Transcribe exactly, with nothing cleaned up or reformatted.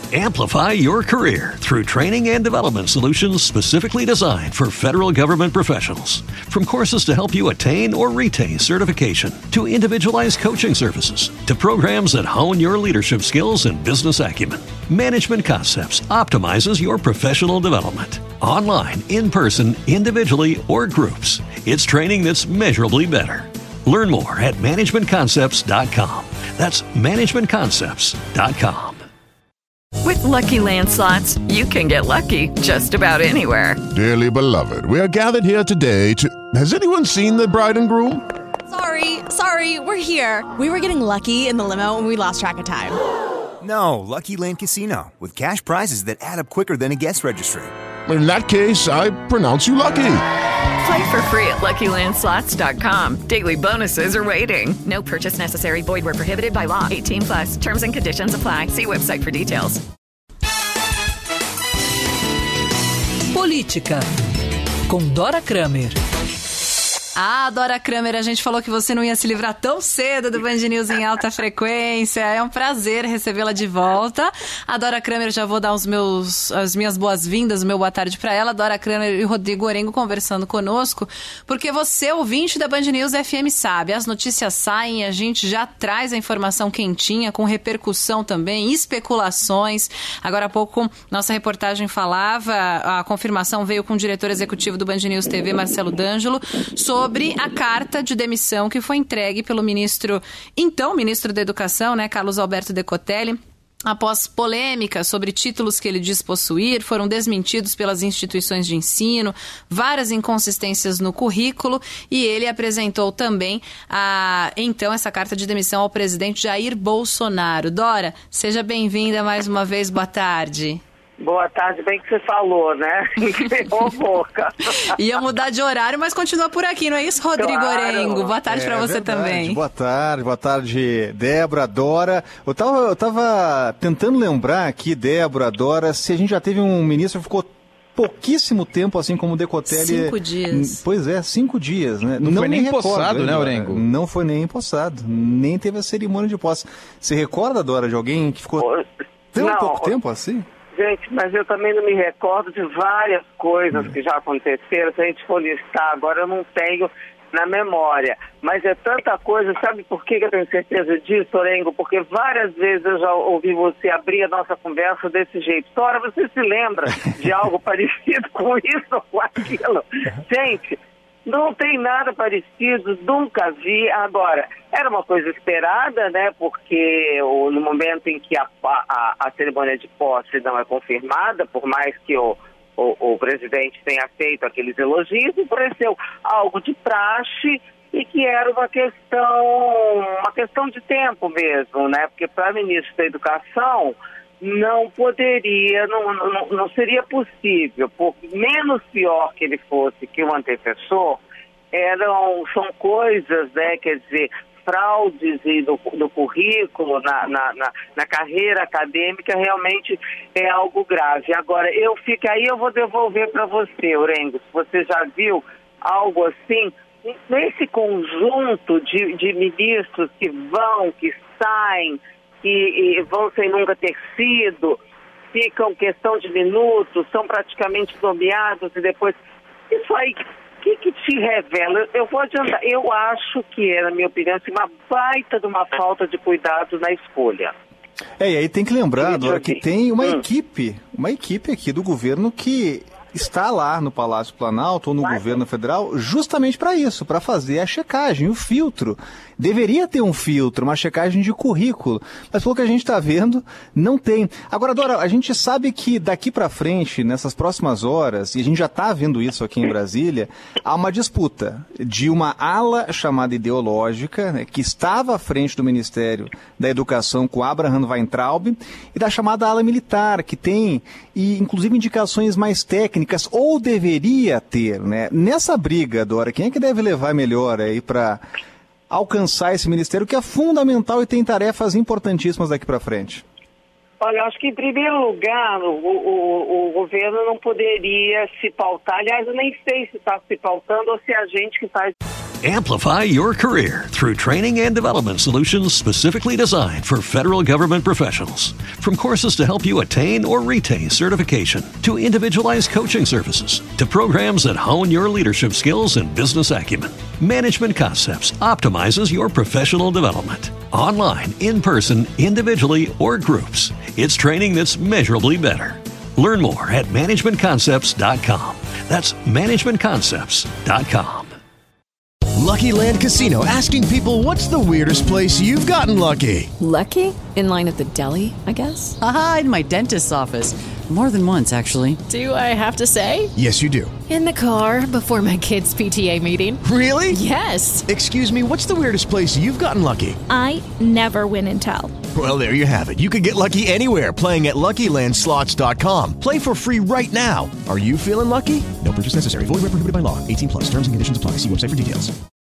Amplify your career through training and development solutions specifically designed for federal government professionals. From courses to help you attain or retain certification, to individualized coaching services, to programs that hone your leadership skills and business acumen, Management Concepts optimizes your professional development. Online, in person, individually, or groups, it's training that's measurably better. Learn more at management concepts dot com. That's management concepts dot com. With Lucky Land Slots, you can get lucky just about anywhere. Dearly beloved, we are gathered here today to... Has anyone seen the bride and groom? Sorry, sorry, we're here. We were getting lucky in the limo and we lost track of time. No, Lucky Land Casino, with cash prizes that add up quicker than a guest registry. In that case, I pronounce you lucky. Play for free at lucky land slots dot com. Daily bonuses are waiting. No purchase necessary. Void where prohibited by law. eighteen plus. Terms and conditions apply. See website for details. Política, com Dora Kramer. Ah, Dora Kramer, a gente falou que você não ia se livrar tão cedo do Band News em alta frequência. É um prazer recebê-la de volta. A Dora Kramer, já vou dar os meus, as minhas boas-vindas, o meu boa tarde para ela. Dora Kramer e Rodrigo Orengo conversando conosco, porque você, ouvinte da Band News F M, sabe, as notícias saem, a gente já traz a informação quentinha, com repercussão também, especulações. Agora há pouco, nossa reportagem falava, a confirmação veio com o diretor executivo do Band News T V, Marcelo D'Angelo, sobre sobre a carta de demissão que foi entregue pelo ministro, então ministro da Educação, né, Carlos Alberto Decotelli. Após polêmica sobre títulos que ele diz possuir, foram desmentidos pelas instituições de ensino, várias inconsistências no currículo, e ele apresentou também, a, então, essa carta de demissão ao presidente Jair Bolsonaro. Dora, seja bem-vinda mais uma vez, boa tarde. Boa tarde, bem que você falou, né? Ferrou boca. Ia mudar de horário, mas continua por aqui, não é isso, Rodrigo Claro. Orengo? Boa tarde É para você verdade. também. Boa tarde, boa tarde, Débora, Dora. Eu tava, eu tava tentando lembrar aqui, Débora, Dora, se a gente já teve um ministro que ficou pouquíssimo tempo, assim como o Decotelli. Cinco dias. Pois é, cinco dias, né? Não foi nem me recordo, empossado, né, Dora? Orengo? Não foi nem empossado, nem teve a cerimônia de posse. Você recorda, Dora, de alguém que ficou tão Não, pouco tempo assim? Gente, mas eu também não me recordo de várias coisas que já aconteceram. Se a gente for listar agora, eu não tenho na memória. Mas é tanta coisa, sabe por que eu tenho certeza disso, Orengo? Porque várias vezes eu já ouvi você abrir a nossa conversa desse jeito. Dora, você se lembra de algo parecido com isso ou com aquilo? Gente, não tem nada parecido, nunca vi. Agora, era uma coisa esperada, né? Porque o, no momento em que a, a, a cerimônia de posse não é confirmada, por mais que o, o, o presidente tenha feito aqueles elogios, pareceu algo de praxe e que era uma questão, uma questão de tempo mesmo, né? Porque para ministro da Educação não poderia, não, não, não seria possível, por menos pior que ele fosse que o antecessor, eram, são coisas, né, quer dizer, fraudes no, no currículo, na, na, na, na carreira acadêmica, realmente é algo grave. Agora, eu fico aí, eu vou devolver para você, Orengo, se você já viu algo assim, nesse conjunto de, de ministros que vão, que saem, que vão sem nunca ter sido, ficam questão de minutos, são praticamente nomeados e depois... Isso aí, o que, que te revela? Eu vou adiantar, eu acho que é, na minha opinião, assim, uma baita de uma falta de cuidado na escolha. É, e aí tem que lembrar, Dora, que tem uma Hum. equipe, uma equipe aqui do governo que está lá no Palácio Planalto ou no governo federal justamente para isso, para fazer a checagem, o filtro. Deveria ter um filtro, uma checagem de currículo, mas pelo que a gente está vendo, não tem. Agora, Dora, a gente sabe que daqui para frente, nessas próximas horas, e a gente já está vendo isso aqui em Brasília, há uma disputa de uma ala chamada ideológica, né, que estava à frente do Ministério da Educação com Abraham Weintraub, e da chamada ala militar, que tem, e, inclusive, indicações mais técnicas, ou deveria ter, né? Nessa briga, Dora, quem é que deve levar melhor aí para alcançar esse ministério que é fundamental e tem tarefas importantíssimas daqui para frente? Olha, acho que em primeiro lugar o, o, o governo não poderia se pautar, aliás, eu nem sei se está se pautando ou se é a gente que faz Amplify your career through training and development solutions specifically designed for federal government professionals. From courses to help you attain or retain certification, to individualized coaching services, to programs that hone your leadership skills and business acumen, Management Concepts optimizes your professional development. Online, in person, individually, or groups, it's training that's measurably better. Learn more at management concepts dot com. That's management concepts dot com. Lucky Land Casino, asking people, what's the weirdest place you've gotten lucky? Lucky? In line at the deli, I guess? Aha, in my dentist's office. More than once, actually. Do I have to say? Yes, you do. In the car before my kids' P T A meeting. Really? Yes. Excuse me, what's the weirdest place you've gotten lucky? I never win and tell. Well, there you have it. You can get lucky anywhere, playing at Lucky Land Slots dot com. Play for free right now. Are you feeling lucky? No purchase necessary. Void where prohibited by law. eighteen plus. Terms and conditions apply. See website for details.